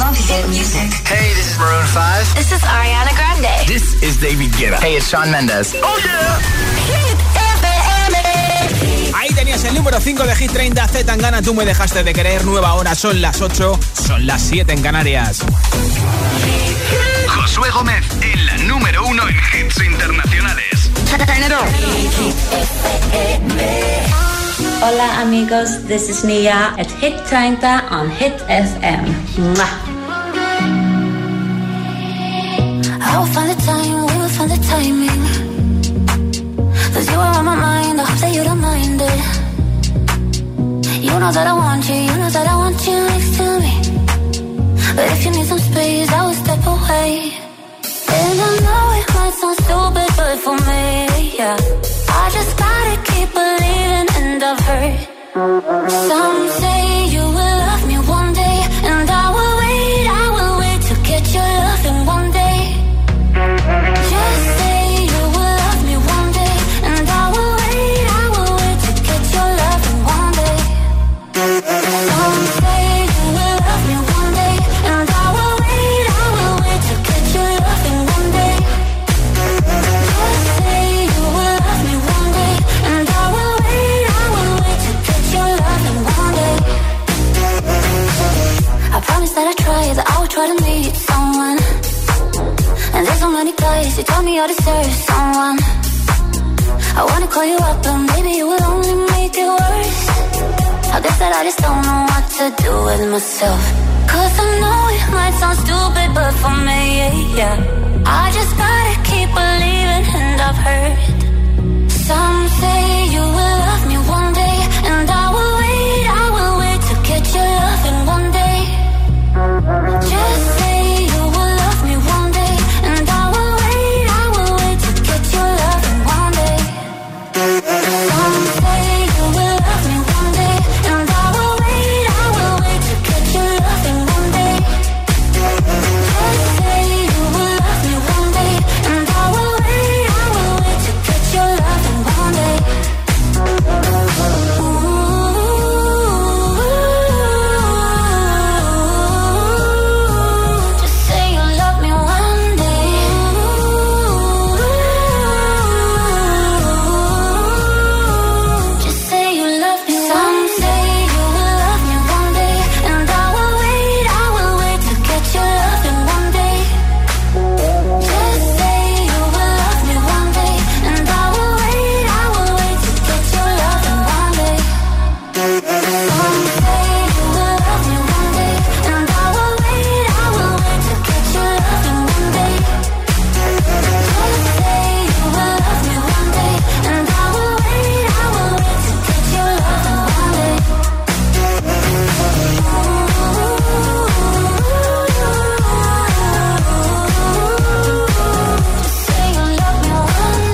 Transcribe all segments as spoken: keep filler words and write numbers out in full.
Top hit music. Hey, this is Maroon five. This is Ariana Grande. This is David Guetta. Hey, it's Shawn Mendes. Oh, yeah. Hit F M. Ahí tenías el número cinco de Hit treinta, Z Tangana, Tú me dejaste de querer. Nueva hora, son las ocho, son las siete en Canarias. Josué Gómez en la número uno en hits internacionales. Hola amigos, this is Nia at Hit treinta on Hit F M. Mwah. I will find the time, we will find the timing. Cause you are on my mind, I hope that you don't mind it. You know that I want you, you know that I want you next to me. But if you need some space, I will step away. And I know it might sound stupid, but for me, yeah, I just gotta keep believing, and I've heard some say you will love me one day, and I will wait, I will wait to get your loving one day. Just say you will love me one day, and I will wait, I will wait to get your loving one day. Some say you will love me one day, and I will wait, I will wait to get your loving one day. Just say you will love me one day, and I will wait, I will wait to get your loving one day. I promise that I try, that I will try to meet someone. And there's so many guys who tell me I deserve someone. I wanna call you up, but maybe it will only make it worse. I guess that I just don't know what to do with myself. Cause I know it might sound stupid, but for me, yeah, I just gotta keep believing, and I've heard some say you will love me one day, and I will wait, I will wait to get your loving one day. Just say you will love me one day, and I will wait, I will wait to get your loving one day. Some say you will love me one day, and I will wait, I will wait to get your loving one day. Just say you will love me one day, and I will wait, I will wait to get your loving one day. Just say you love me one day. Just say you love me. Some say you will love me one day, and I will wait, I will wait to get your loving one day. Just say you will love me one day, and I will wait, I will wait to get your loving one day. Some say you will love me one day, and I will wait, I will wait to get your loving one day. Just say you will love me one day, and I will wait, I will wait to get your loving one day. Just say you love me one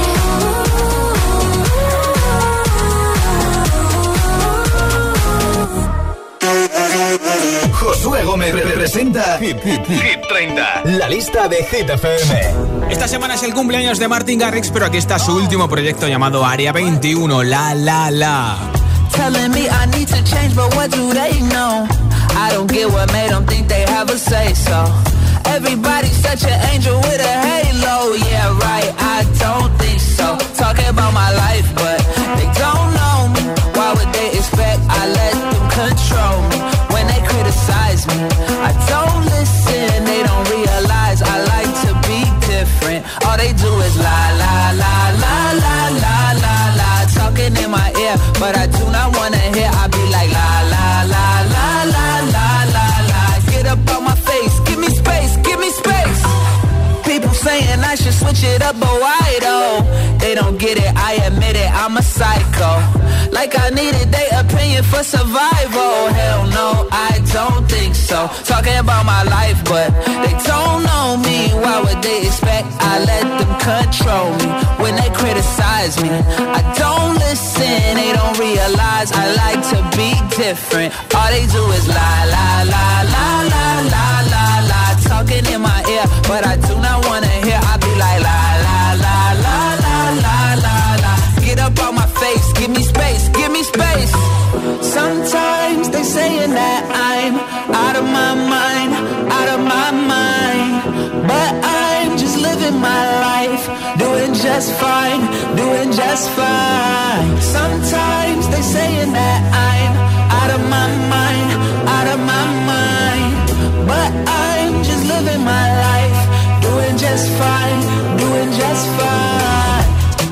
day. Josué Gómez representa Hit, Hit, Hit treinta, la lista de Hit F M. Esta semana es el cumpleaños de Martin Garrix, pero aquí está su último proyecto llamado Área veintiuno, La La La. Telling me I need to change, but what do they know? I don't get what made them think they have a say so. Everybody's such an angel with a halo. Yeah, right, I don't think so. Talking about my life, but they don't know me. Why would they expect I let them control me? When they criticize me, I don't listen. They don't realize I like to be different. All they do is lie, lie, lie, lie, lie, lie, lie, lie. Talking in my ear, but I do not wanna hear. I be like la, la, la, la, la, la, la, la. Get up on my face, give me space, give me space. People saying I should switch it up, but why though? They don't get it, I admit it, I'm a psycho. Like I needed their opinion for survival. Hell no, I don't think so. Talking about my life, but they don't know me. Why would they expect I let them control me? When they criticize me, I don't listen. They don't realize I like to be different. All they do is lie, lie, lie, lie, lie, lie, lie, lie. Talking in my ear, but I do not wanna hear. I be like la, la, la, la, la, la, la, la. Get up on my face, give me space, give me space. Sometimes they saying that I'm out of my mind. just fine, doing just fine. Sometimes they saying that I'm out of my mind, out of my mind, but I'm just living my life, doing just fine, doing just fine.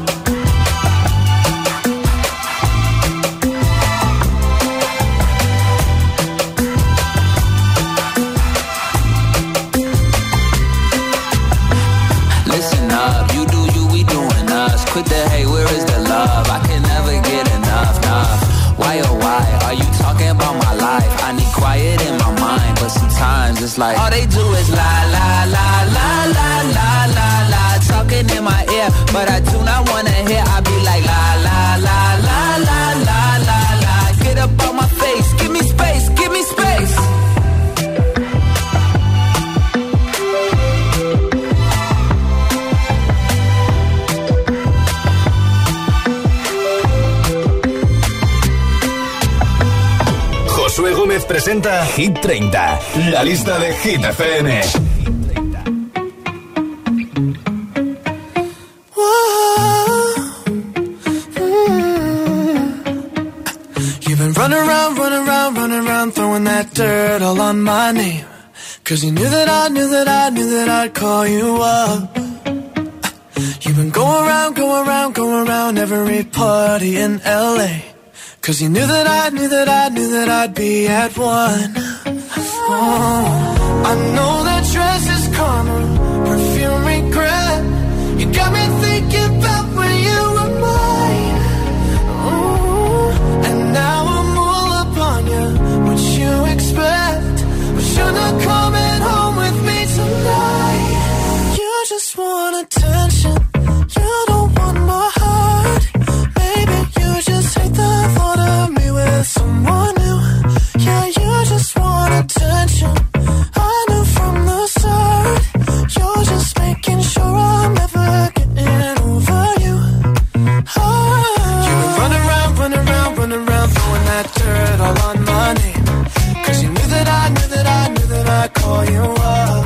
Listen up, you do you, we doing us. Quit the hate, where is the love? I can never get enough, enough. Why oh why are you talking about my life? I need quiet in my mind, but sometimes it's like all they do is la la la la la la la la, talking in my ear, but I do not wanna hear. I be like la la la la la la la la. Get up on my face, give me space, give me space. Josué Gómez presenta Hit treinta, la lista de Hit F M. You've been running around, running around, running around, throwing that dirt all on my name. Cause you knew that I knew that I knew that I'd call you up. You've been going around, going around, going around every party in L A. Cause you knew that I knew that I knew that I'd be at one. Oh, I know that dress is karma, perfume regret. You got me thinking about when you were mine. Oh, and now I'm all up on you. What you expect? But you're not coming home with me tonight. You just want attention. You don't want my heart. Maybe you just hate the thought of me with someone new. Yeah, you just want attention. I knew from the start. You're just making sure I'm never getting over you. Oh. You've been running around, running around, running around, throwing that dirt all on my name. Cause you knew that I knew that I knew that I'd call you up.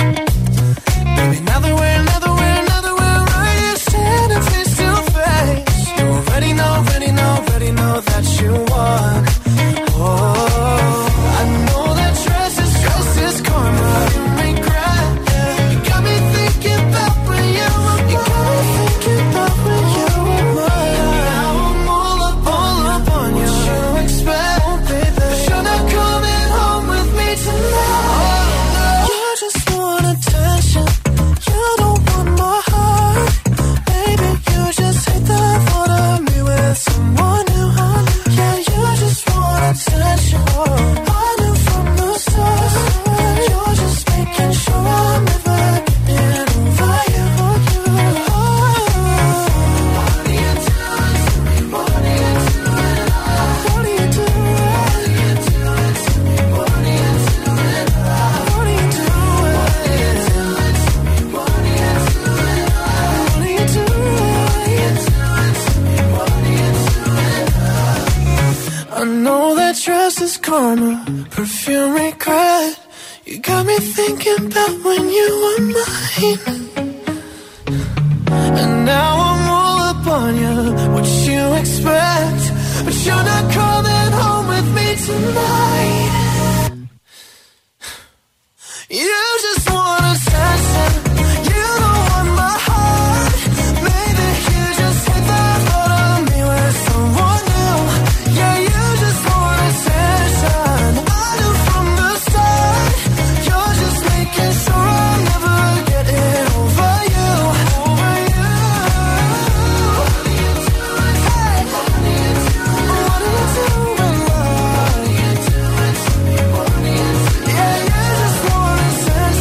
Baby, now that we're, now that we're, now that we're right here standing face to face, you already know, already know, already know that you won. Oh, I know that dress is, dress is karma, you regret. Yeah. You got me thinking about when you were mine. You got me thinking about when you were mine. Now I'm all up, all up on you. What you expect, oh, baby? But you're not coming home with me tonight. Oh, you just want attention. You don't want my heart. Baby, you just hate the thought of me with someone new. Yeah, you just want attention. I knew from the start. You're just making sure I'm never getting over you. Oh. What are you doing to me? What are you doing? What are you doing? What are you doing to me? What are you doing? What are you doing? What are you doing to me? What are you doing? What are you doing? What are you doing to me? What are you doing? I know that dress is karma, perfume regret. You got me thinking about when you were mine. And now I'm all up on you. What you expect? But you're not coming home with me tonight. You just want attention. You don't want my heart. Maybe you just hate the thought of me with someone new. Yeah, you just want attention. I knew from the start. You're just making sure I'm never getting over you. Over you. What are you doing? Hey. What are you doing? What are you doing? What are you doing to me? What are you doing? Yeah, you just want attention.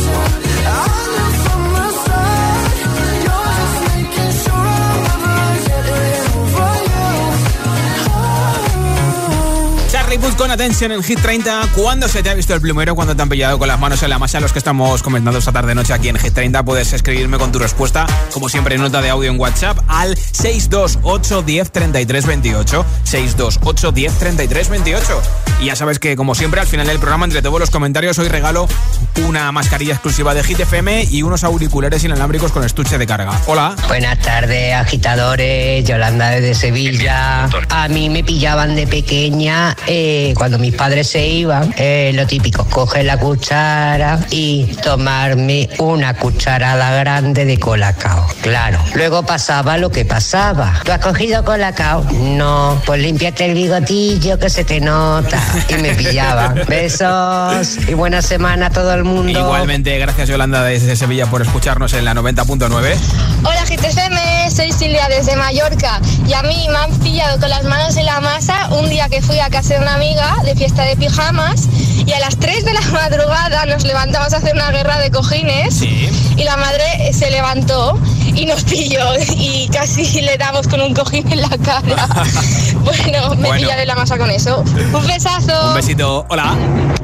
con Attention en Hit treinta. ¿Cuándo se te ha visto el plumero? ¿Cuándo te han pillado con las manos en la masa? Los que estamos comentando esta tarde-noche aquí en Hit treinta, puedes escribirme con tu respuesta, como siempre, en nota de audio en WhatsApp al seis dos ocho uno cero tres tres dos ocho. seis dos ocho uno cero tres tres dos ocho. Y ya sabes que, como siempre, al final del programa, entre todos los comentarios, hoy regalo una mascarilla exclusiva de Hit F M y unos auriculares inalámbricos con estuche de carga. Hola. Buenas tardes, agitadores. Yolanda desde Sevilla. A mí me pillaban de pequeña eh, cuando mis padres se iban, eh, lo típico, coger la cuchara y tomarme una cucharada grande de colacao. Claro, luego pasaba lo que pasaba. ¿Tú has cogido colacao? No, pues límpiate el bigotillo que se te nota. Y me pillaban. Besos y buena semana a todo el mundo. Igualmente, gracias Yolanda desde Sevilla por escucharnos en la noventa punto nueve. Hola Hit F M, soy Silvia desde Mallorca y a mí me han pillado con las manos en la masa un día que fui a casa de una amiga de fiesta de pijamas y a las tres de la madrugada nos levantamos a hacer una guerra de cojines. Sí. Y la madre se levantó y nos pilló y casi le damos con un cojín en la cara. Bueno, me bueno. pillaré la masa con eso. Un besazo. Un besito. Hola.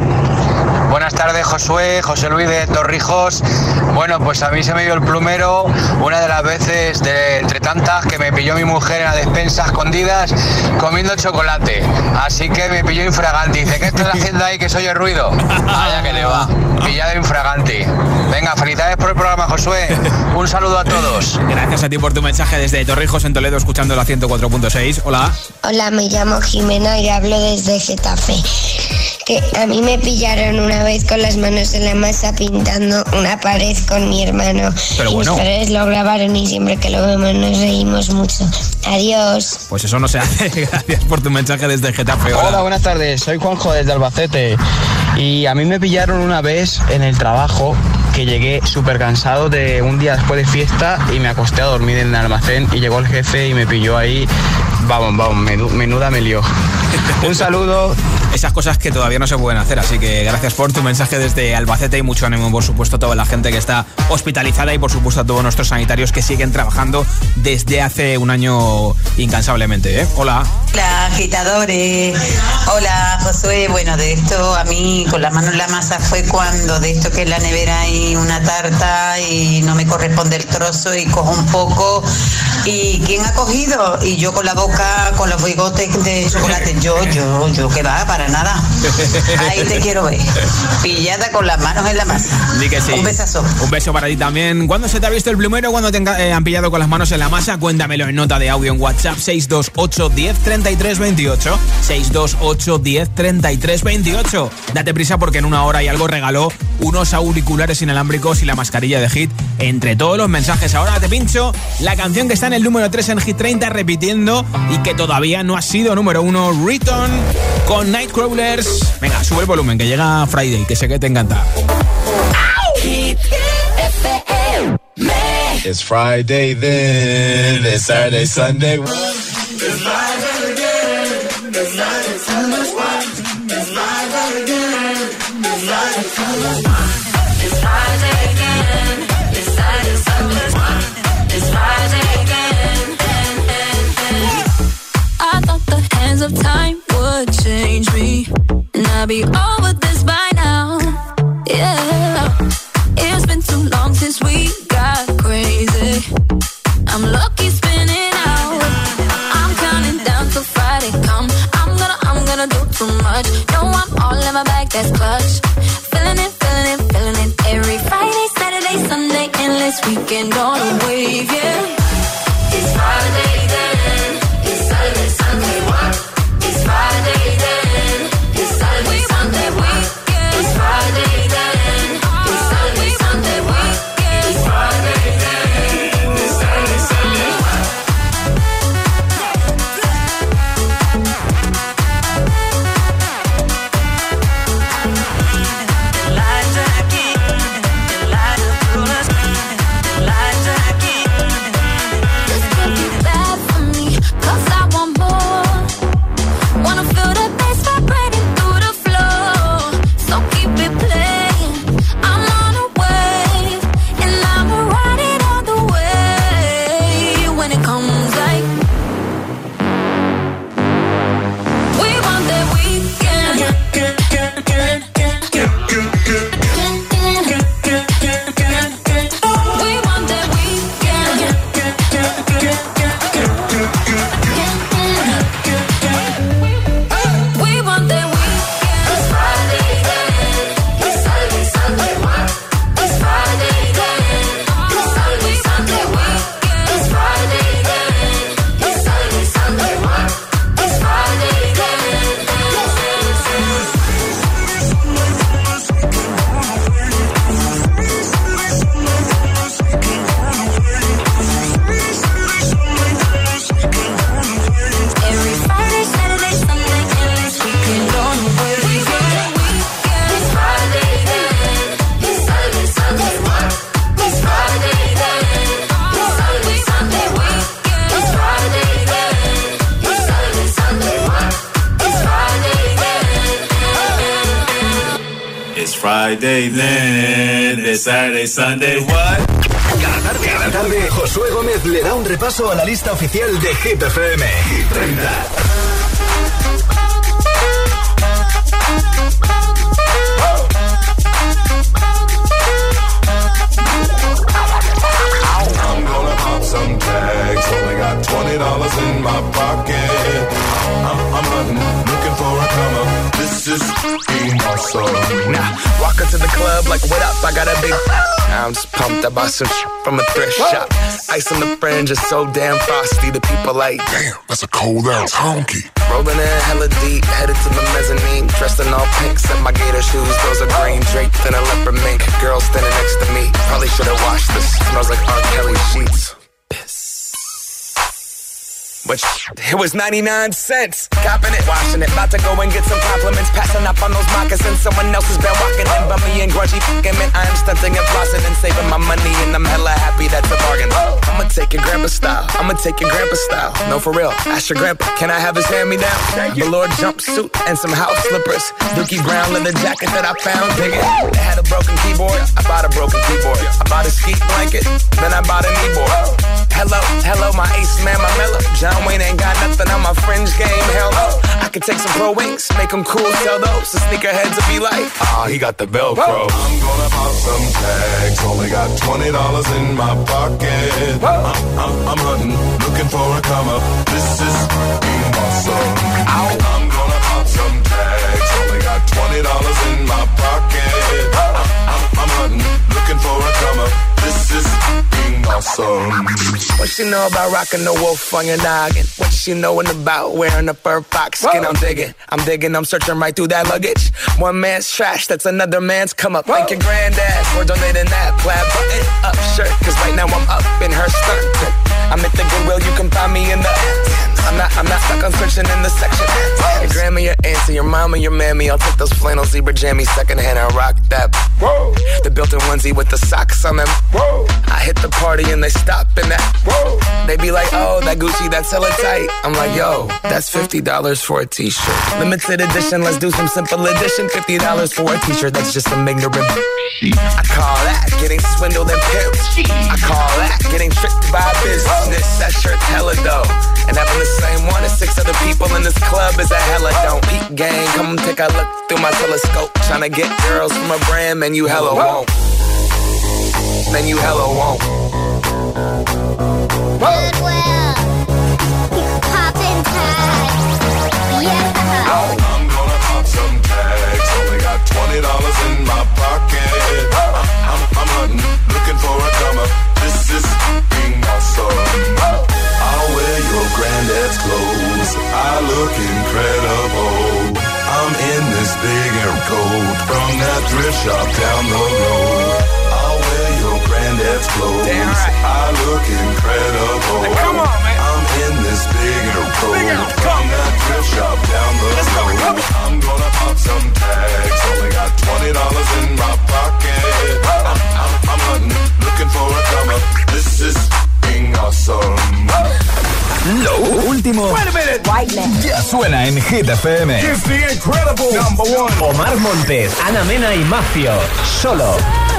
Buenas tardes, Josué, José Luis de Torrijos. Bueno, pues a mí se me dio el plumero una de las veces de entre tantas que me pilló mi mujer en la despensa escondidas comiendo chocolate. Así que me pilló infraganti. Dice, ¿qué estás haciendo ahí que soy el ruido? Vaya que le va. Pillado infraganti. Venga, felicidades por el programa, Josué. Un saludo a todos. Gracias a ti por tu mensaje desde Torrijos en Toledo, escuchando la ciento cuatro punto seis. Hola. Hola, me llamo Jimena y hablo desde Getafe. Que a mí me pillaron una vez con las manos en la masa pintando una pared con mi hermano. Pero y bueno, mis padres lo grabaron y siempre que lo vemos nos reímos mucho. Adiós. Pues eso no se hace. Gracias por tu mensaje desde Getafe. Hola. Hola, buenas tardes. Soy Juanjo desde Albacete. Y a mí me pillaron una vez en el trabajo que llegué súper cansado de un día después de fiesta y me acosté a dormir en el almacén y llegó el jefe y me pilló ahí. Vamos, vamos, menuda me lió. Un saludo. Esas cosas que todavía no se pueden hacer, así que gracias por tu mensaje desde Albacete y mucho ánimo, por supuesto, a toda la gente que está hospitalizada y por supuesto a todos nuestros sanitarios que siguen trabajando desde hace un año incansablemente, ¿eh? Hola. Hola, agitadores. Hola, Josué. Bueno, de esto a mí con la mano en la masa fue cuando de esto que en la nevera hay una tarta y no me corresponde el trozo y cojo un poco y ¿quién ha cogido? Y yo con la boca, con los bigotes de chocolate. Yo, yo, yo, que va, para nada. Ahí te quiero ver. Pillada con las manos en la masa. Di que sí. Un besazo. Un beso para ti también. ¿Cuándo se te ha visto el plumero? ¿Cuándo te eh, han pillado con las manos en la masa? Cuéntamelo en nota de audio en WhatsApp seis dos ocho uno cero tres tres dos ocho. seis dos ocho uno cero tres tres dos ocho. Date prisa porque en una hora y algo regaló unos auriculares inalámbricos y la mascarilla de Hit entre todos los mensajes. Ahora te pincho la canción que está en el número tres en Hit treinta repitiendo y que todavía no ha sido número uno, Return con Nightcrawlers. Venga, sube el volumen que llega Friday, que sé que te encanta. It's Friday then, it's Saturday, Sunday. It's live again, it's live, it's it's live again, it's live, it's Friday again, it's Saturday, Sunday, it's Friday again. I thought the hands of time would change me, and I'd be over this by now. Yeah, it's been too long since we got crazy. I'm lucky spinning out. I'm counting down till Friday come. I'm gonna, I'm gonna do too much. No, I'm all in my bag, that's clutch. Feeling it, feeling it, feeling it. Every Friday, Saturday, Sunday, endless weekend on a wave, yeah. It's Friday then. It's Saturday, Sunday, what? It's Friday then. It's Saturday, Sunday, what? It's Friday then. It's Saturday, Sunday, what? It's Friday then. It's Saturday, Sunday, what? We want that weekend. Friday, then it's Saturday, Sunday, what? Cada tarde, cada tarde, Josué Gómez le da un repaso a la lista oficial de Hit F M. Hit treinta. I'm gonna pop some tags. Only got twenty dollars in my pocket. I'm, I'm hunting, looking for a come up. This is being awesome. Nah, walk into the club like, what up? I got a big. I'm just pumped. I bought some shit from a thrift shop. Ice on the fringe is so damn frosty. The people like, damn, that's a cold ass honky. Rolling in hella deep, headed to the mezzanine. Dressed in all pink, set my gator shoes. Those are green draped in a leopard mink. Girl standing next to me. Probably should have washed this. Smells like R. Kelly sheets. But it was ninety-nine cents. Copping it, washing it. About to go and get some compliments. Passing up on those moccasins. Someone else has been walking in. Bummy and grungy fucking man. I am stunting and flossing and saving my money. And I'm hella happy that's a bargain. I'ma take your grandpa style. I'ma take your grandpa style. No, for real. Ask your grandpa. Can I have his hand-me-down? Velour jumpsuit and some house slippers. Dookie brown leather jacket that I found. Dig it. It had a broken keyboard. I bought a broken keyboard. I bought a ski blanket. Then I bought a kneeboard. Hello, hello, my ace man, my mellow. John Wayne ain't got nothing on my fringe game, hell no. I could take some pro wings, make them cool, sell those. The sneakerheads will be like, ah, oh, he got the Velcro. I'm gonna pop some tags, only got twenty dollars in my pocket. I'm, I'm, I'm hunting, looking for a come up. This is being awesome. Ow. I'm gonna pop some tags, only got twenty dollars in my pocket. I'm, I'm, I'm hunting, looking for a come up. This is being awesome. What she know about rocking the wolf on your noggin? What she knowin' about wearing a fur fox skin? Whoa. I'm digging, I'm digging, I'm searching right through that luggage. One man's trash, that's another man's come up. Whoa. Thank your granddad for donating that plaid button up shirt. Cause right now I'm up in her skirt. I'm at the Goodwill, you can find me in the I'm not, I'm not stuck on searching in the section. Your grandma, your auntie, your mama, your mammy. I'll take those flannel zebra jammies secondhand and rock that. Whoa. The built-in onesie with the socks on them. Whoa. I hit the party and they stop in that. Whoa. They be like, oh, that Gucci, that's hella tight. I'm like, yo, that's fifty dollars for a t-shirt. Limited edition, let's do some simple edition. fifty dollars for a t-shirt, that's just some ignorant. I call that getting swindled and pimped. I call that getting tricked by business. That shirt's hella dope. And having the same one as six other people in this club is a hella don't. Peak gang, come take a look through my telescope. Tryna get girls from a brand, man, you hella won't. Man, you hella won't. Goodwill. Poppin' tags. Yeah. I'm gonna pop some tags. Only got twenty dollars in my pocket. I'm, I'm, I'm hunting, looking for a come up. This is being awesome. I'll wear your granddad's clothes. I look incredible. I'm in this big air coat from that thrift shop down the road. I'll wear your granddad's clothes. Damn right. I look incredible. Now come on, man. I'm in this big air coat from that thrift shop down the Let's road. Go, I'm gonna pop some tags. Only got twenty dollars in my pocket. I'm, I'm, I'm hunting, looking for a come up. This is being awesome. Lo último ya suena en Hit F M. It's the incredible number one. Omar Montes, Ana Mena y Mafio. Solo.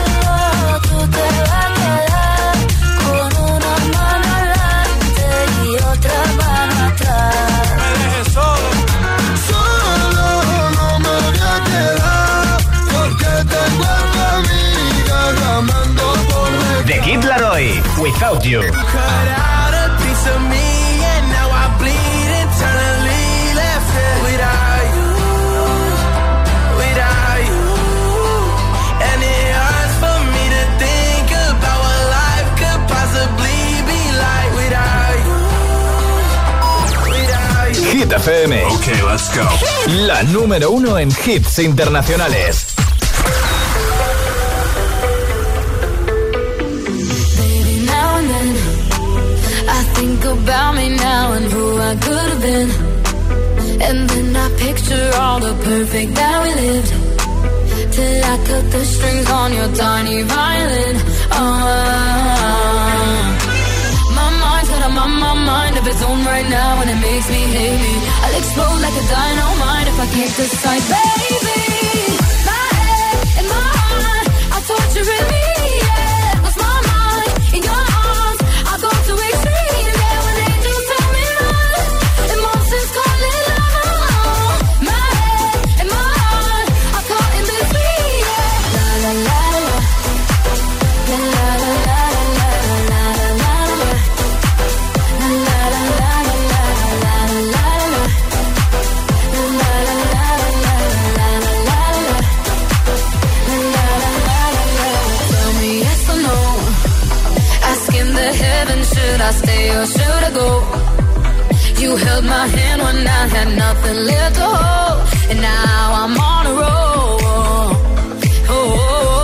The Kid Laroi, Without You. Hit F M. Okay, let's go. La número uno en hits internacionales. Baby, now and then I think about me now and who I could have been. And then I picture all the perfect that we lived. Till I cut the strings on your tiny violin. Oh, my mind's got a my, my mind of its own right now, and it makes me hate me. I'll explode like a dynamite if I can't decide, baby. My head and my should I stay or should I go? You held my hand when I had nothing left to hold, and now I'm on a roll. Oh, oh, oh.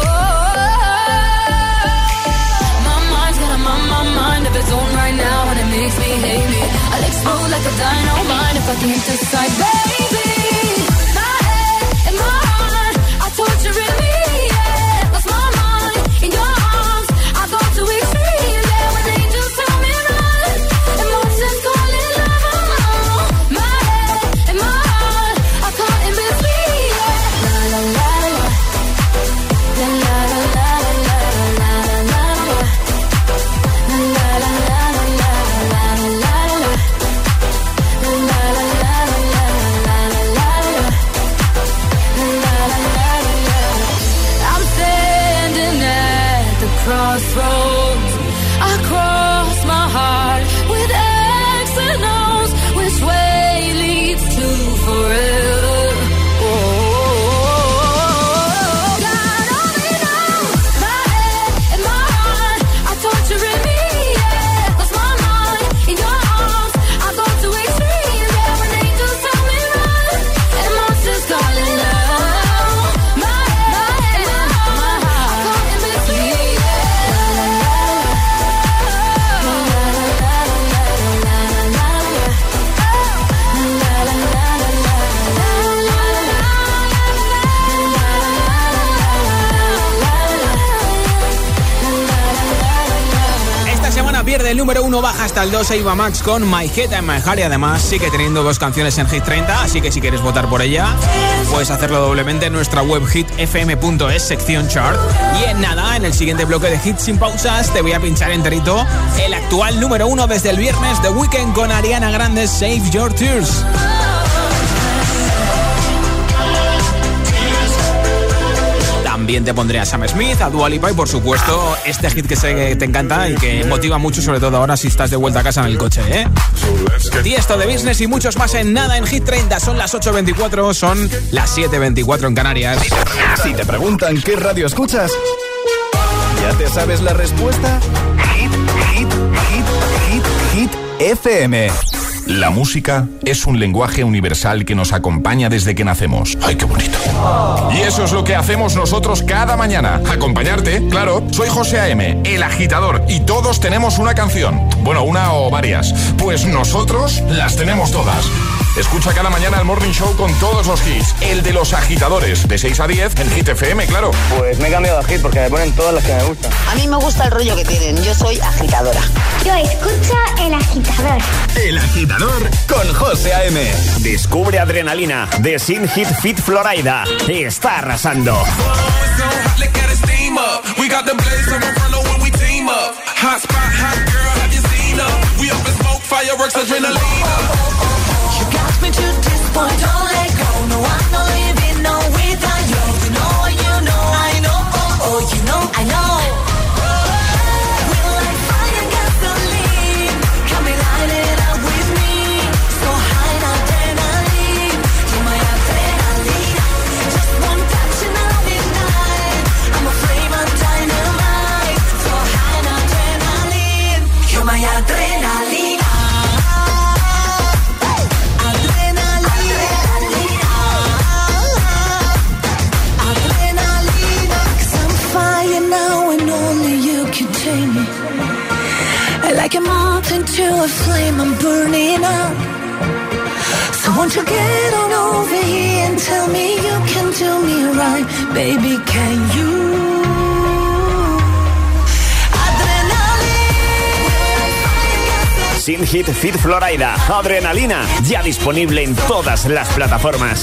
My mind's got a my, my mind of its own right now, and it makes me hate me. I'll explode like a dynamite if I can't decide, baby. My head and my heart are torturing me. Yeah, lost my mind in your arms. I go to extreme. Yeah, when angels tell me run, emotions calling love. My head and my heart are caught in between. Yeah. La la la la, la la la la la la la la, la la la la la la la la. I'm standing at the crossroads. I cross my heart with X and O's. Which way leads to forever? Oh, God only knows. My head and my heart are torturing me. Yeah, lost my mind in your arms. I go to extreme. Yeah, when angels tell me run, and monsters calling love. My head, my head, my heart are caught in between. Esta semana pierde el número uno, baja hasta el dos, Ava Max con My Head and My Heart, y además sigue teniendo dos canciones en Hit treinta, así que si quieres votar por ella, puedes hacerlo doblemente en nuestra web hit f m punto es, sección chart. Y en nada, en el siguiente bloque de Hits sin pausas, te voy a pinchar enterito el actual número uno desde el viernes, The Weeknd con Ariana Grande, Save Your Tears. También te pondré a Sam Smith, a Dua Lipa y por supuesto este hit que sé que te encanta y que motiva mucho, sobre todo ahora si estás de vuelta a casa en el coche, ¿eh? Tiesto de Business y muchos más en nada en Hit treinta. Son las ocho veinticuatro, son las siete veinticuatro en Canarias. Si te preguntan qué radio escuchas, ¿ya te sabes la respuesta? Hit, hit, hit, hit, hit F M. La música es un lenguaje universal que nos acompaña desde que nacemos. ¡Ay, qué bonito! Y eso es lo que hacemos nosotros cada mañana. Acompañarte, claro. Soy José A M, el agitador, y todos tenemos una canción. Bueno, una o varias. Pues nosotros las tenemos todas. Escucha cada mañana el Morning Show con todos los hits. El de los agitadores, de seis a diez en Hit F M, claro. Pues me he cambiado de hit porque me ponen todas las que me gustan. A mí me gusta el rollo que tienen. Yo soy agitadora. Yo escucho El Agitador. El Agitador con José A M. Descubre Adrenalina de Sin Hit Fit Florida. Está arrasando. Like a moth into a flame, I'm burning up. So won't you get on over here and tell me you can do me right, baby, can you? Sin Hit Fit Florida, Adrenalina, ya disponible en todas las plataformas.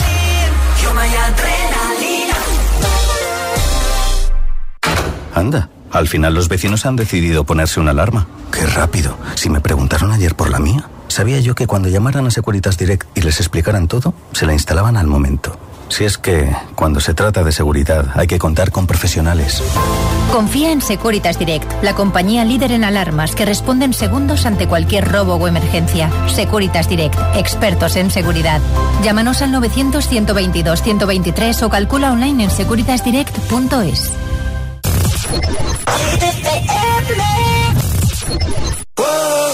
Anda, al final los vecinos han decidido ponerse una alarma. ¡Qué rápido! Si me preguntaron ayer por la mía, sabía yo que cuando llamaran a Securitas Direct y les explicaran todo, se la instalaban al momento. Si es que, cuando se trata de seguridad, hay que contar con profesionales. Confía en Securitas Direct, la compañía líder en alarmas que responde en segundos ante cualquier robo o emergencia. Securitas Direct, expertos en seguridad. Llámanos al novecientos, ciento veintidós, ciento veintitrés o calcula online en securitas direct punto es. Whoa.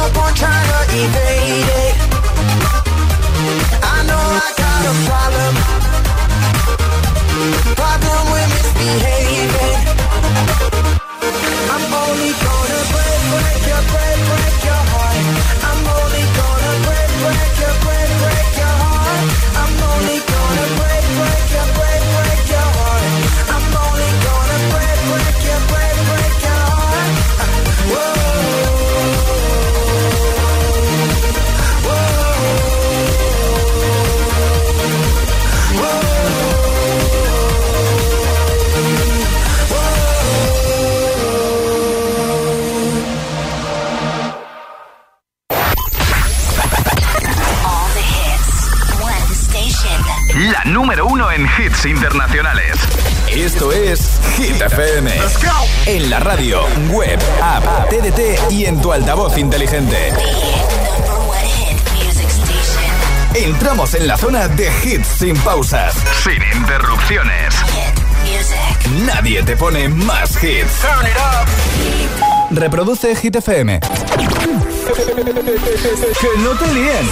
up on trying to evade it. I know I got a problem, problem with misbehaving. I'm only gonna break, break your, break, break your heart. I'm only gonna break, break your, break, break your heart. I'm only gonna break, break your, break, break your heart. I'm only gonna break, break your, break, break your heart. Whoa, whoa, whoa. La número uno en hits internacionales. Esto es Hit F M. En la radio, web, app, T D T y en tu altavoz inteligente. Entramos en la zona de hits sin pausas, sin interrupciones. Nadie te pone más hits. Reproduce Hit F M. Que no te líen.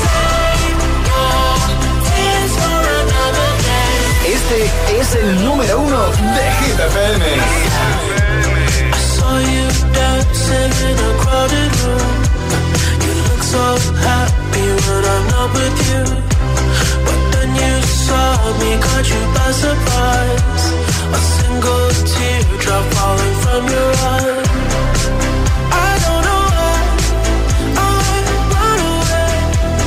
Este es el número uno de Hit F M. I saw you dancing in a crowded room. You look so happy when I'm not with you. But then you saw me, caught you by surprise. A single teardrop falling from your eye. I don't know why I run away.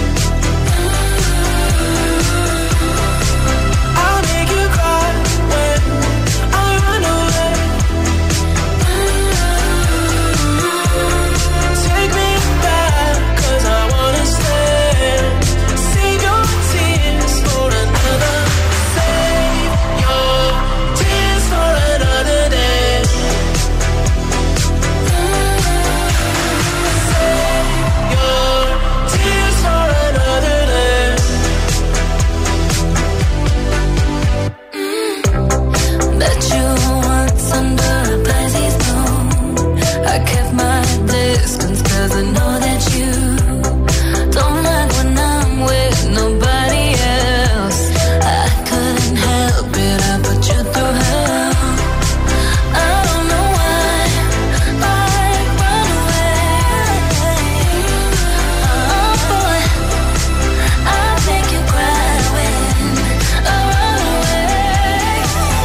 I'll make you cry when I run away. Take me back, 'cause I wanna stay. Save your tears for another. Save your tears for another day. Save your tears for another day. Bet you once under a Pisces moon I kept my distance 'cause I know that you don't like when I'm with nobody else. I couldn't help it, I put you through hell. I don't know why I run away. Oh boy, I'll make you cry when I run away.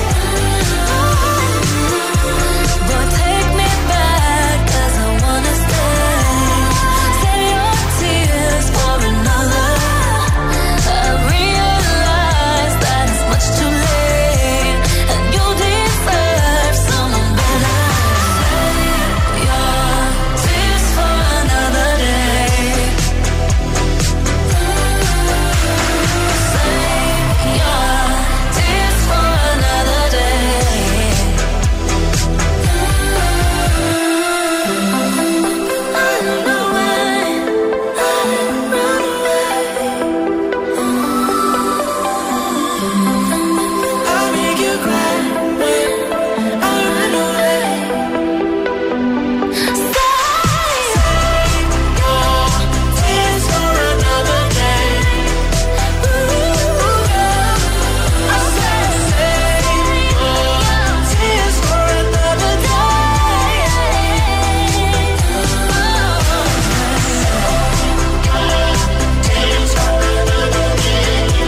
But take me back, 'cause I wanna stay. Save your tears for another. I realize that it's much too late, and you deserve someone better. Save your tears for another day. Save your tears for another day. I don't know why I run away. I'll make you cry when I run away. Save your tears for another day. I said save your tears for another day. Tears for another day.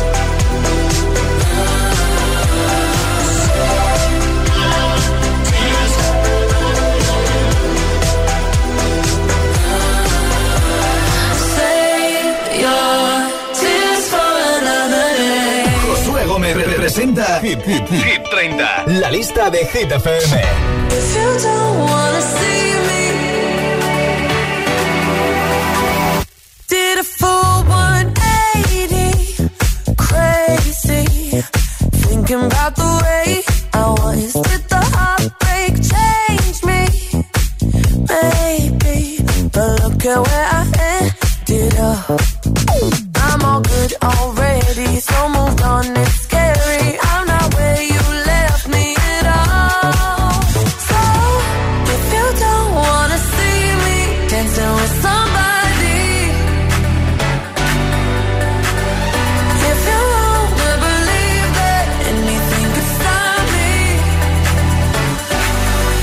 Save your tears for another day. Josué Gómez representa Hit, Hit, Hit treinta. La lista de Hit F M. If you don't wanna see me, did a full one eighty, crazy, thinking about the way I was. Did the heartbreak change me? Maybe, but look at where I ended up. I'm all good already, so moved on, it's scary. I'm not where you left me at all. So, if you don't wanna see me dancing with somebody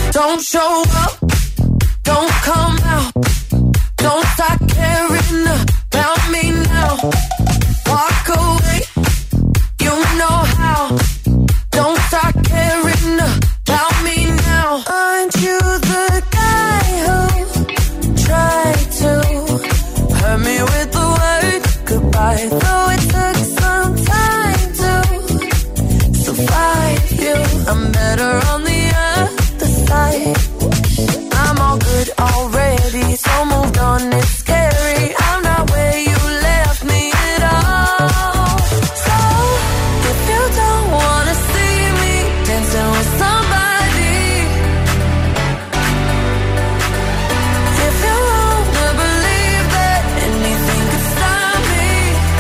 Don't show up, don't come out, don't start caring about me now. Walk away, you know how. Don't start caring about me now. Aren't you the guy who tried to hurt me with the word goodbye? Though it took some time to survive you, I'm better on the other side. I'm all good already, so moved on, it's scary. I'm not where you left me at all. So, if you don't wanna see me dancing with somebody, if you wanna believe that anything could stop me,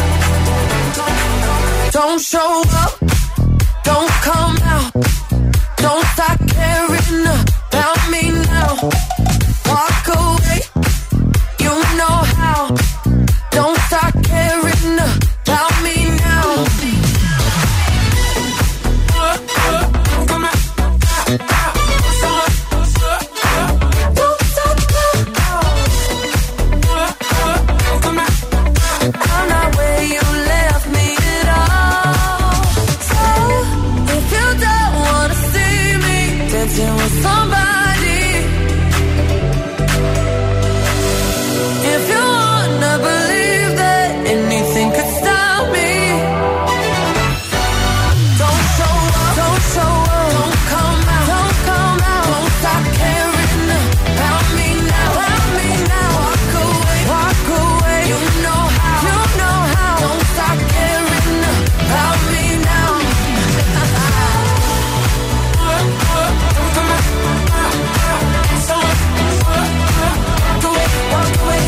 don't show up, don't come out, don't start caring about me now. Walk away, you know how. Don't start caring about me now. I'm not where you left me at all. So, if you don't wanna see me dancing with somebody, if you wanna believe that anything could stop me, don't show up, don't show up, don't come out, don't come out, don't stop caring about me now, about me now. Walk away, walk away, you know how, you know how. Don't stop caring about me now. Walk away.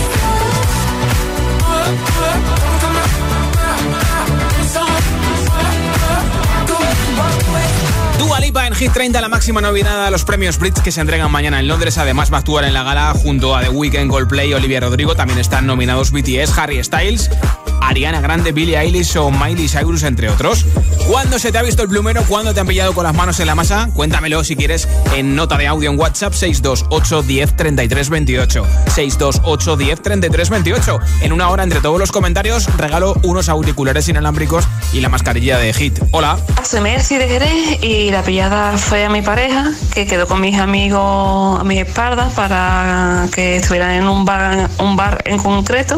Dua Lipa en Hit treinta, la máxima nominada a los premios Brits que se entregan mañana en Londres. Además va a actuar en la gala junto a The Weeknd, Coldplay, Olivia Rodrigo. También están nominados B T S, Harry Styles, Ariana Grande, Billie Eilish o Miley Cyrus, entre otros. ¿Cuándo se te ha visto el plumero? ¿Cuándo te han pillado con las manos en la masa? Cuéntamelo si quieres en nota de audio en WhatsApp seis dos ocho, uno cero, treinta y tres veintiocho. seis dos ocho, uno cero, treinta y tres veintiocho. En una hora, entre todos los comentarios, regalo unos auriculares inalámbricos y la mascarilla de Hit. Hola. Soy Mercy de Jerez y la pillada fue a mi pareja, que quedó con mis amigos a mis espaldas para que estuvieran en un bar, un bar en concreto,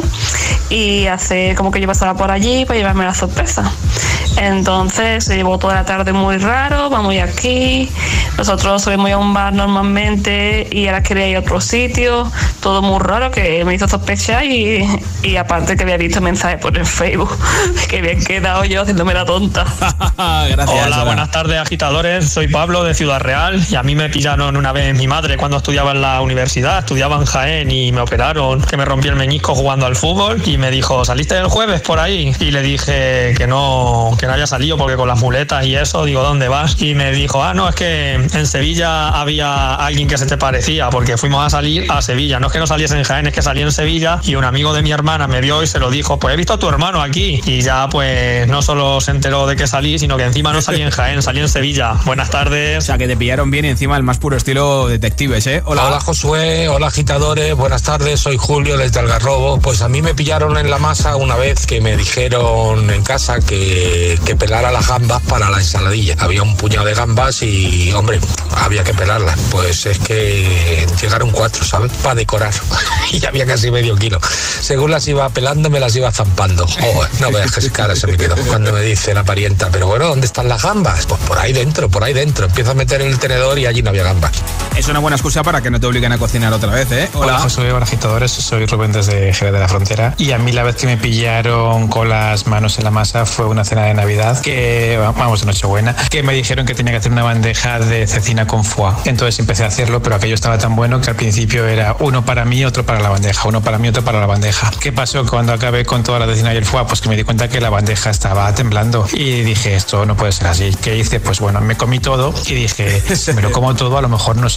y hacer como que yo pasaba por allí para llevarme la sorpresa. Entonces se llevó toda la tarde muy raro, vamos a aquí, nosotros subimos a un bar normalmente y ahora quería ir a otro sitio, todo muy raro que me hizo sospechar, y, y aparte que había visto mensajes por el Facebook que habían quedado yo haciéndome la tonta. Gracias. Hola, Hola, buenas tardes, agitadores. Soy Pablo de Ciudad Real y a mí me pillaron una vez mi madre cuando estudiaba en la universidad, estudiaba en Jaén, y me operaron, que me rompí el meñisco jugando al fútbol, y me dijo, ¿saliste el jueves por ahí? Y le dije que no, que no había salido porque con las muletas y eso, digo, ¿dónde vas? Y me dijo, ah, no, es que en Sevilla había alguien que se te parecía, porque fuimos a salir a Sevilla, no es que no saliese en Jaén, es que salí en Sevilla, y un amigo de mi hermana me vio y se lo dijo, pues he visto a tu hermano aquí, y ya pues no solo se enteró de que salí, sino que encima no salí en Jaén, salí en Sevilla. Buenas tardes. O sea, que te pillaron bien y encima el más puro estilo detectives, ¿eh? Hola. Hola, Josué, hola, agitadores, buenas tardes, soy Julio desde Algarrobo. Pues a mí me pillaron en la masa una vez que me dijeron en casa que, que pelara las gambas para la ensaladilla. Había un puñado de gambas y, hombre, había que pelarlas. Pues es que llegaron cuatro, ¿sabes? Para decorar. Y había casi medio kilo. Según las iba pelando, me las iba zampando. Oh, no veas qué cara se me quedó cuando me dice la parienta, pero bueno, ¿dónde están las gambas? Pues por ahí dentro, por ahí dentro. Empiezo a meter el tenedor y allí no había gambas. Es una buena excusa para que no te obliguen a cocinar otra vez, ¿eh? Hola, Hola Josué, hola, agitadores. Soy Rubén desde Jerez de la Frontera. Y a mí la vez que me pillaron con las manos en la masa fue una cena de Navidad, que vamos, de Nochebuena, que me dijeron que tenía que hacer una bandeja de cecina con foie. Entonces empecé a hacerlo, pero aquello estaba tan bueno que al principio era uno para mí, otro para la bandeja, uno para mí, otro para la bandeja. ¿Qué pasó cuando acabé con toda la cecina y el foie? Pues que me di cuenta que la bandeja estaba temblando y dije, esto no puede ser así. ¿Qué hice? Pues bueno, me comí todo y dije, me lo como todo, a lo mejor no se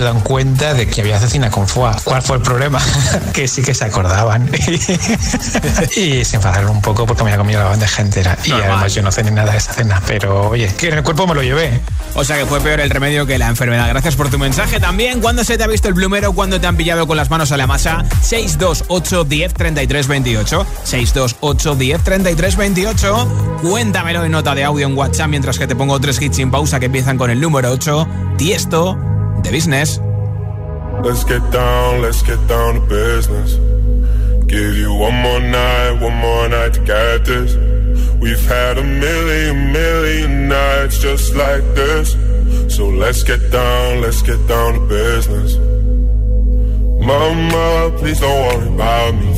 dan cuenta de que había cecina con foie. ¿Cuál fue el problema? Que sí que se acordaban. Y se enfadaron un poco porque me había comido la bandeja entera. Y normal. Además yo no cené nada de esa cena, pero oye, que en el cuerpo me lo llevé. O sea que fue peor el remedio que la enfermedad. Gracias por tu mensaje también. ¿Cuándo se te ha visto el plumero? ¿Cuándo te han pillado con las manos a la masa? seis dos ocho, diez, treinta y tres, veintiocho. seis dos ocho, diez, treinta y tres, veintiocho. Cuéntamelo en nota de audio en WhatsApp mientras que te pongo tres hits sin pausa que empiezan con el número ocho. Tiesto, The Business. Let's get down, let's get down to business. Give you one more night, one more night to get this. We've had a million, million nights just like this. So let's get down, let's get down to business. Mama, please don't worry about me.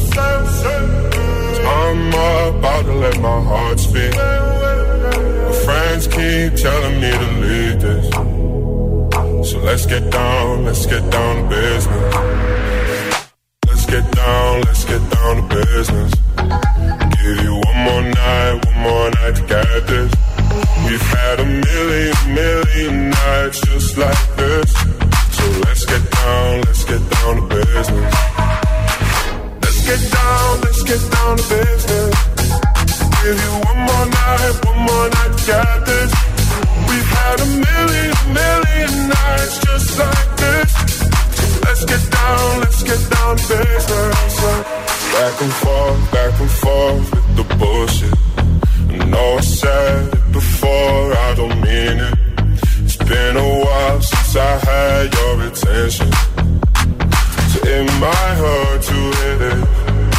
I'm about to let my heart speak. My friends keep telling me to leave this. So let's get down, let's get down to business. Let's get down, let's get down to business. Give you one more night, one more night to get this. We've had a million, million nights just like this. So let's get down, let's get down to business. Let's get down, let's get down to business. Give you one more night, one more night to get this. We've had a million, million nights just like this. Let's get down, let's get down to business. Back and forth, back and forth with the bullshit. I know I said it before, I don't mean it. It's been a while since I had your attention, so it might hurt to hit it.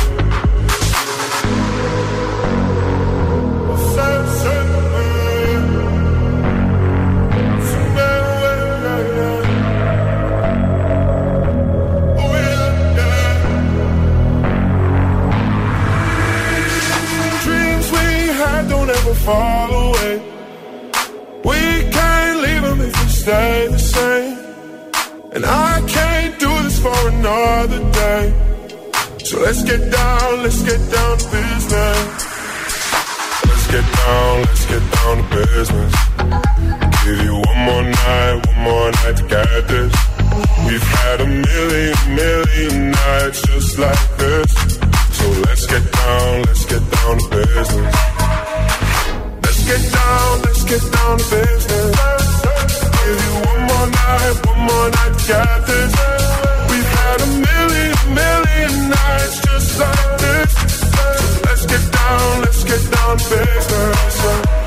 Fall away. We can't leave them if we stay the same. And I can't do this for another day. So let's get down, let's get down to business. Let's get down, let's get down to business. Give you one more night, one more night to get this. We've had a million, million nights just like this. So let's get down, let's get down to business. Let's get down, let's get down to business. Give you one more night, one more night to get this. We've had a million, million nights just like this. So let's get down, let's get down to business.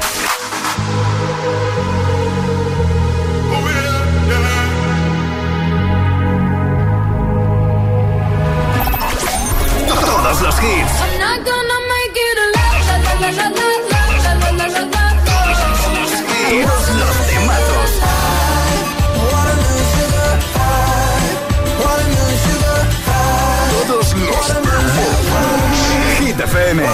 Oh yeah, yeah. Todos los hits. I'm not gonna make it a la la la la la la. Todos los temazos. Todos los temazos. Hit F M.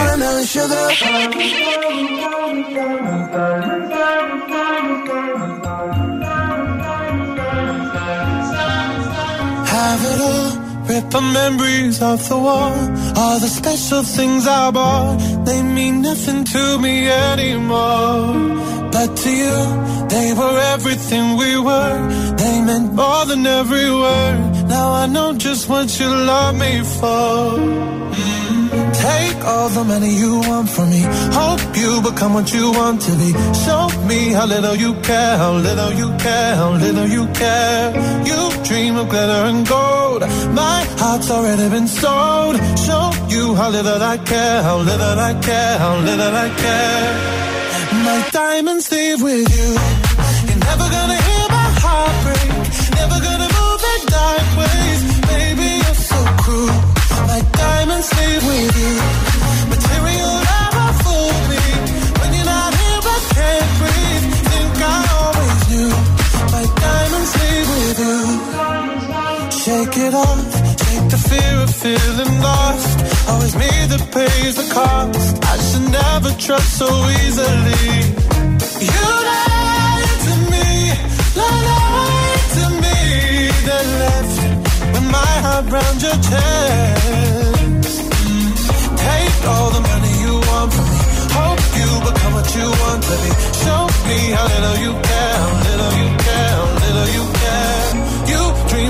Have it all. Rip the memories off the wall. All the special things I bought, they mean nothing to me anymore. But to you, they were everything we were. They meant more than every word. Now I know just what you love me for. Mm. Take all the money you want from me. Hope you become what you want to be. Show me how little you care, how little you care, how little you care. You dream of glitter and gold. My heart's already been sold. Show you how little I care, how little I care, how little I care. My diamonds leave with you. You're never gonna hear my heart break. Never gonna move in dark ways. Baby, you're so cruel. My diamonds leave with you. Material never fooled me. When you're not here, I can't breathe. Think I always knew. My diamonds leave with you. Shake it off. Take the fear of feeling lost. Always me that pays the cost. I should never trust so easily. You lied to me, lied to me. Then left with my heart round your chest. Mm. Take all the money you want from me. Hope you become what you want to be. Show me how little you care, how little you care, how little you care. You dream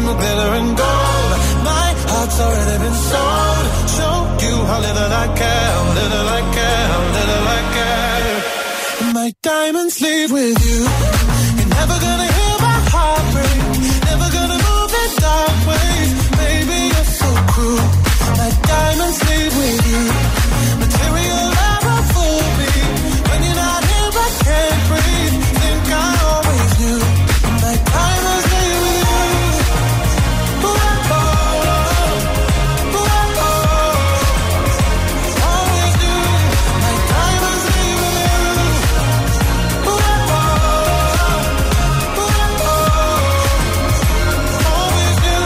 with glitter and gold. My heart's already been sold. Show you how little I care, little I care, little I care. My diamonds leave with you. You're never gonna hear my heart break. Never gonna move in dark ways. Baby, you're so cruel. My diamonds leave with you. Material never fooled me. When you're not here, I can't breathe. Think I always knew. My diamonds leave with you. Ooh, oh, oh, ooh, oh, always knew. My diamonds leave with you. Ooh, oh, ooh, oh, always knew.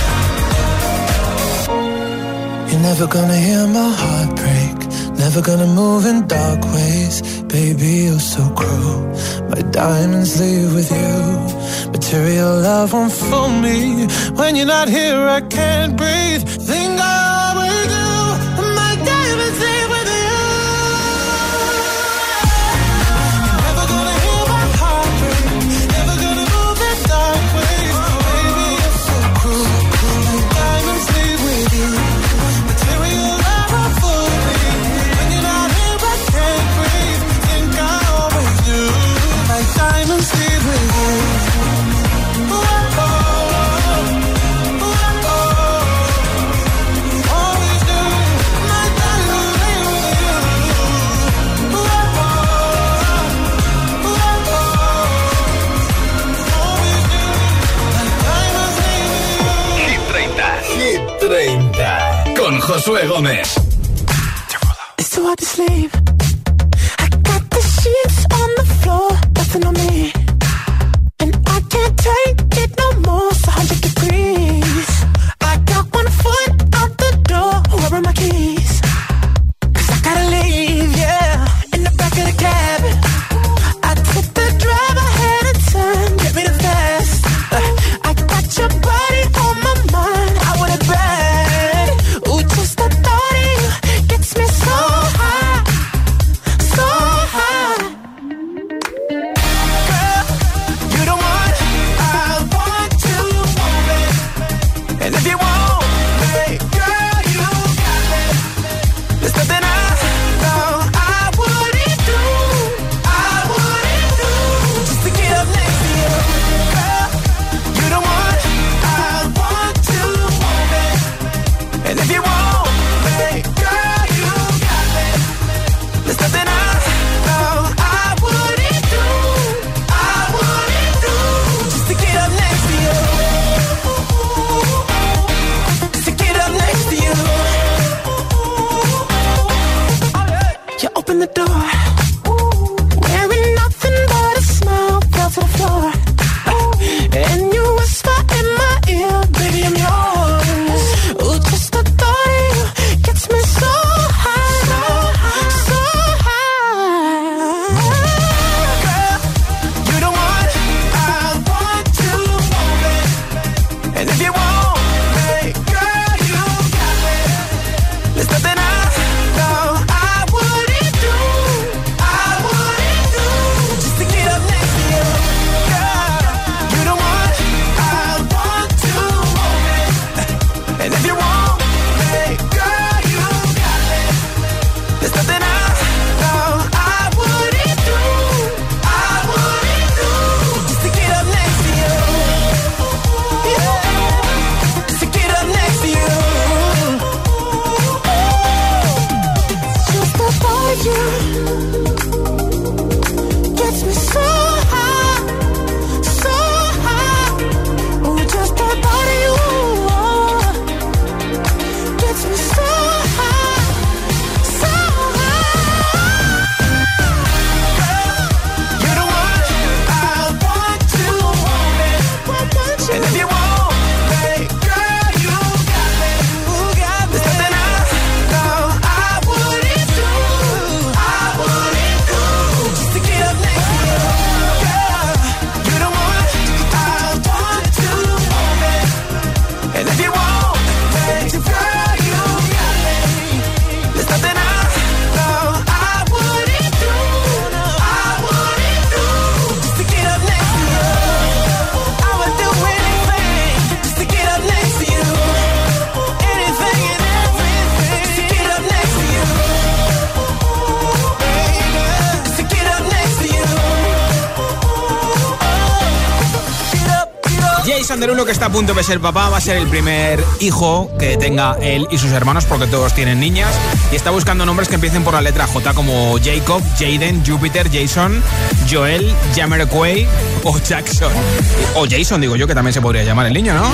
You're never gonna hear my heart break. Never gonna move in dark ways. Baby, you're so cruel. My diamonds leave with you. Material love won't fool me. When you're not here, I can't breathe. Think I always do. My diamonds leave with you. You're never gonna hear my heart break. Never gonna move in dark ways. Baby, you're so cruel. My diamonds leave with you. Material love won't fool me. When you're not here, I can't breathe. Think I always do. My diamonds leave with you. Ooh, oh, ooh, oh, always do. My diamonds leave with you. Ooh, oh, ooh, always do. My diamonds leave with you. Hit treinta. Hit treinta. Con Josué Gómez. It's too hard to sleep. I got the sheets on the floor, nothing on me. And I can't take it no more, it's one hundred degrees. I got one foot out the door, where are my keys? Cause I gotta leave, yeah, in the back of the cab. I took the drive, I had a turn, get me the fast. uh, I got your body on my mind, I want it bad. Ooh, just the thought of you gets me so high, so high. Girl, you the one I want to want. Jason Derulo, que está a punto de ser papá, va a ser el primer hijo que tenga él y sus hermanos, porque todos tienen niñas, y está buscando nombres que empiecen por la letra J, como Jacob, Jaden, Jupiter, Jason, Joel, Jamiroquai o Jackson. O Jason, digo yo, que también se podría llamar el niño, ¿no?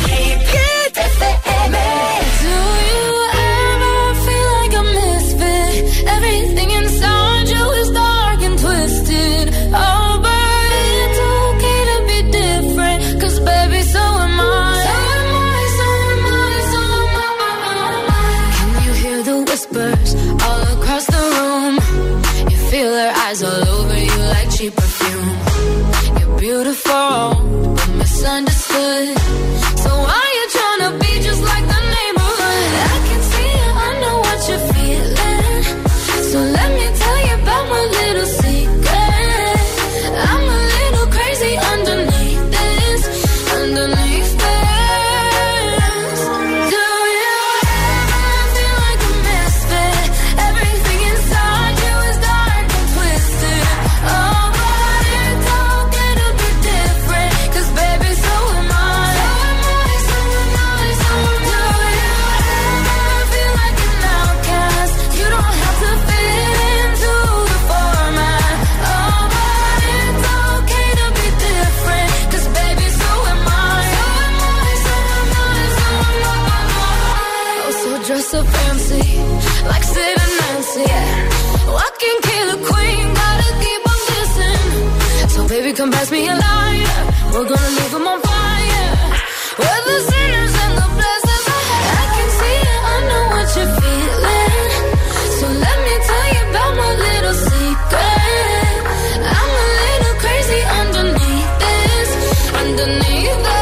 Everything inside you is dark and twisted. Oh, but it's okay to be different. Cause baby, so am I. So am I, so am I, so am I. Can you hear the whispers all across the room? You feel their eyes all over you like cheap perfume. You're beautiful, but misunderstood. So why you tryna be just like the neighborhood? I can see it, I know what you're feeling. So let me tell you about my little secret. I'm a little crazy underneath this, underneath this. Do you ever feel like a misfit? Everything inside you is dark and twisted. Oh, but it's okay to be different. Cause baby, so am I. So am I, so am I, so am I. Do you ever feel like an outcast? You don't have to feel so fancy, like Sid and Nancy, yeah. Walking killer queen, gotta keep on kissing. So baby, come pass me a lighter. We're gonna leave them on fire. We're the sinners and the blessings. I can see it, I know what you're feeling. So let me tell you about my little secret. I'm a little crazy underneath this, underneath this.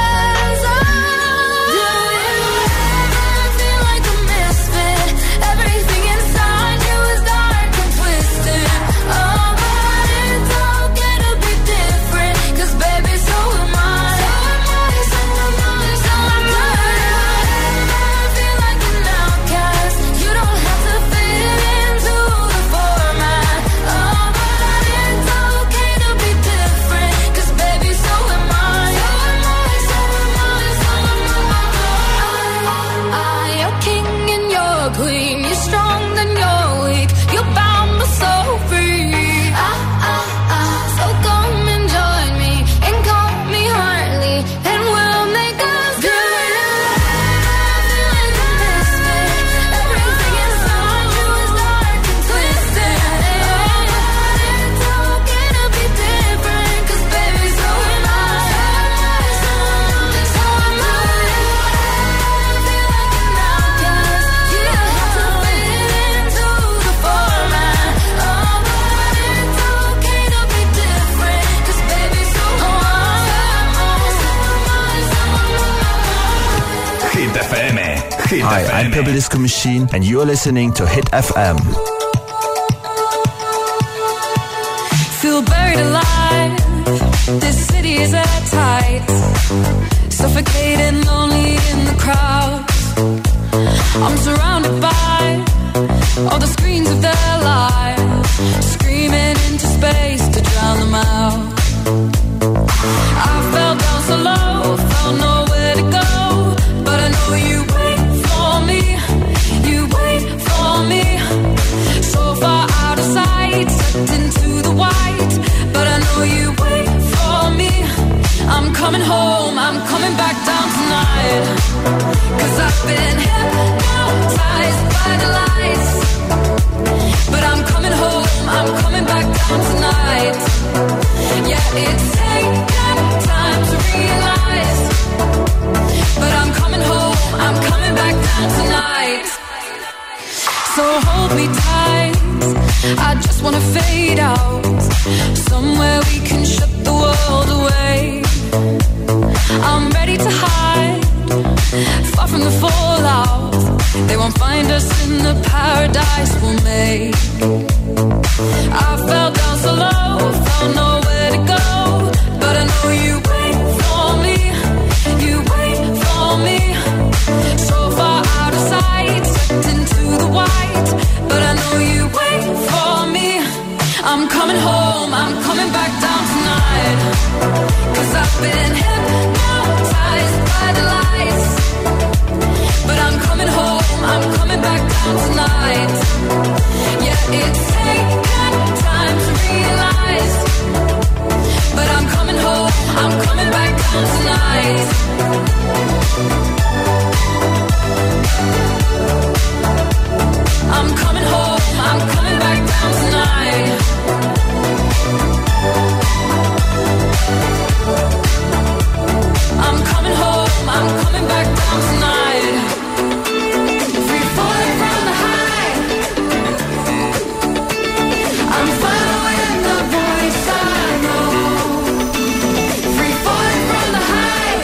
Hi, I'm Purple Disco Machine and you're listening to Hit F M. Feel buried alive. This city is at tight. Suffocating, lonely in the crowd. I'm surrounded by all the screens of their lives, screaming into space to drown them out. I fell down so low, found nowhere to go, but I know you wait for me, you wait for me. So far out of sight, sucked into the white, but I know you wait for me. I'm coming home, I'm coming back down tonight. Cause I've been hypnotized by the lights, but I'm coming home, I'm coming back down tonight. Yeah, it's taken time to realize, but I'm coming home, I'm coming back down tonight. So hold me tight, I just wanna fade out, somewhere we can shut the world away. I'm ready to hide, far from the fallout. They won't find us in the paradise we'll make. I fell down so low, found nowhere to go, but I know you wait for me, you wait for me. So far out of sight, sucked into the white, but I know you wait for me. I'm coming home, I'm coming back down tonight. Cause I've been hypnotized coming back down tonight. Free falling from the high. I'm following the voice I know. Free falling from the high.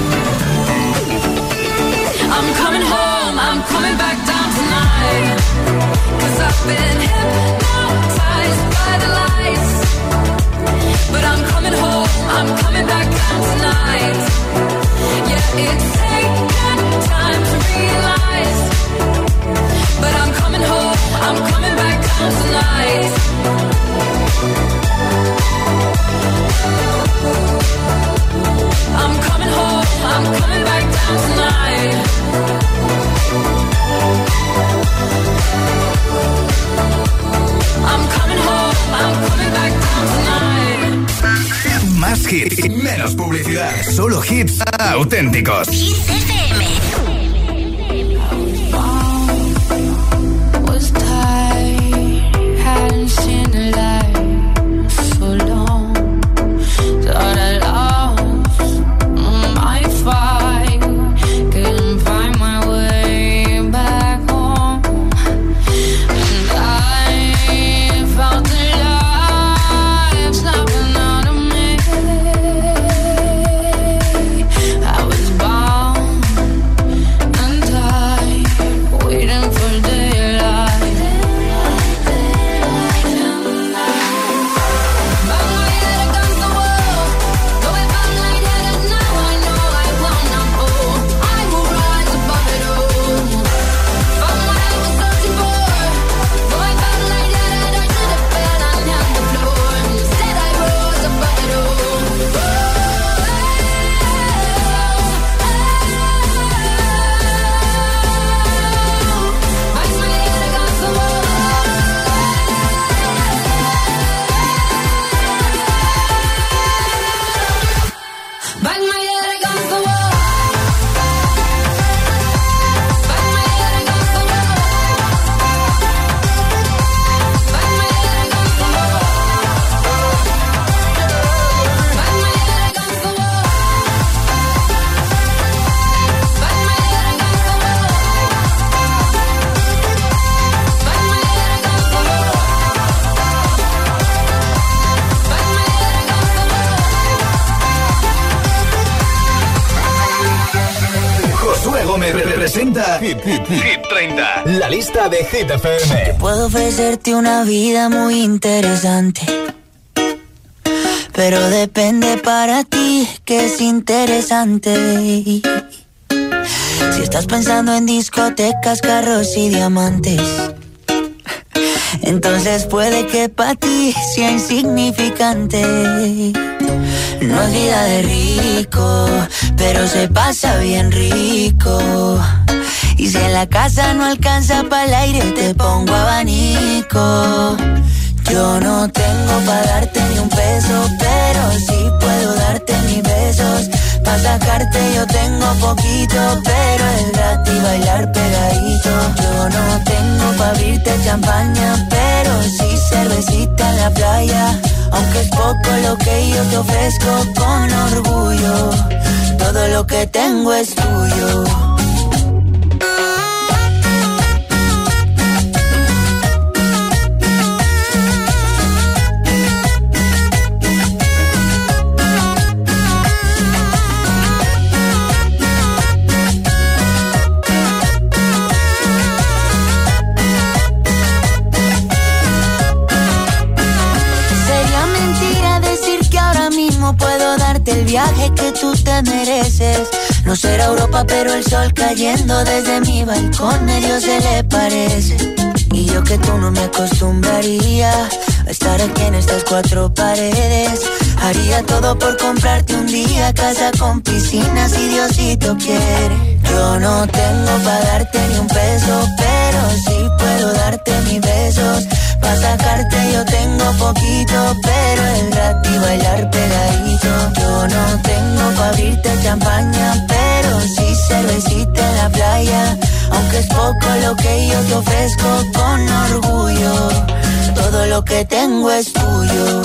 I'm coming home, I'm coming back down tonight. 'Cause I've been hypnotized by the lights. But I'm coming home, I'm coming back down tonight. Yeah, it's taken time to realize. But I'm coming home, I'm coming back down tonight. I'm coming home, I'm coming back down tonight. I'm coming home, I'm coming back down tonight. Más hits, menos publicidad. Solo hits auténticos. Hits F M. Was tired, hadn't seen the light for long. Thought I lost my fight, couldn't find my way back home. And I felt the life snapping out of me. I was bound and tied, waiting for daylight. Bang my head against the wall, going back lightheaded. Now I know I will not fall. I will rise above it all. Found what I was searching for, going back lightheaded. I should have fell and hit the floor. Instead I rose above it all. Bang my head against the wall. Bang my head against the wall. Bang my head against the wall. Bang my head against the wall. Bang my head against the wall. Bang my head against the wall. Bang my head against the wall. Bang my head against the wall. Josué Gómez representa Hit, Hit, Hit treinta. La lista de Hit F M. Puedo ofrecerte una vida muy interesante, pero depende para ti que es interesante. Si estás pensando en discotecas, carros y diamantes, entonces puede que para ti sea insignificante. No es vida de rico, pero se pasa bien rico. Y si en la casa no alcanza para el aire, te pongo abanico. Yo no tengo para darte ni un peso, pero sí puedo darte mis besos. Pa' sacarte yo tengo poquito, pero es gratis bailar pegadito. Yo no tengo pa' abrirte champaña, pero sí cervecita en la playa. Aunque es poco lo que yo te ofrezco con orgullo, todo lo que tengo es tuyo. Puedo darte el viaje que tú te mereces. No será Europa, pero el sol cayendo desde mi balcón medio se le parece. Y yo que tú no me acostumbraría a estar aquí en estas cuatro paredes. Haría todo por comprarte un día casa con piscina si Diosito quiere. Yo no tengo pa' darte ni un peso, pero sí puedo darte mis besos. Pa' sacarte yo tengo poquito, pero es gratis bailar pegadito. Yo no tengo pa' abrirte champaña, pero sí cervecita en la playa. Aunque es poco lo que yo te ofrezco con orgullo, todo lo que tengo es tuyo.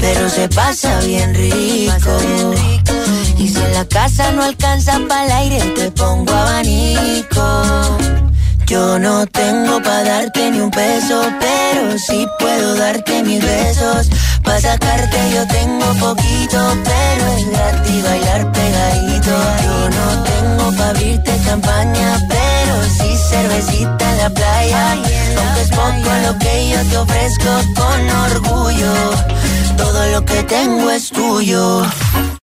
pero se pasa bien rico. Y si en la casa no alcanza pa'l aire, te pongo abanico. Yo no tengo pa' darte ni un peso, pero sí puedo darte mis besos. Pa' sacarte yo tengo poquito, pero es gratis bailar pegadito. Yo no tengo pa' abrirte champaña, pero sí cervecita en la playa. Aunque es poco lo que yo te ofrezco con orgullo, todo lo que tengo es tuyo.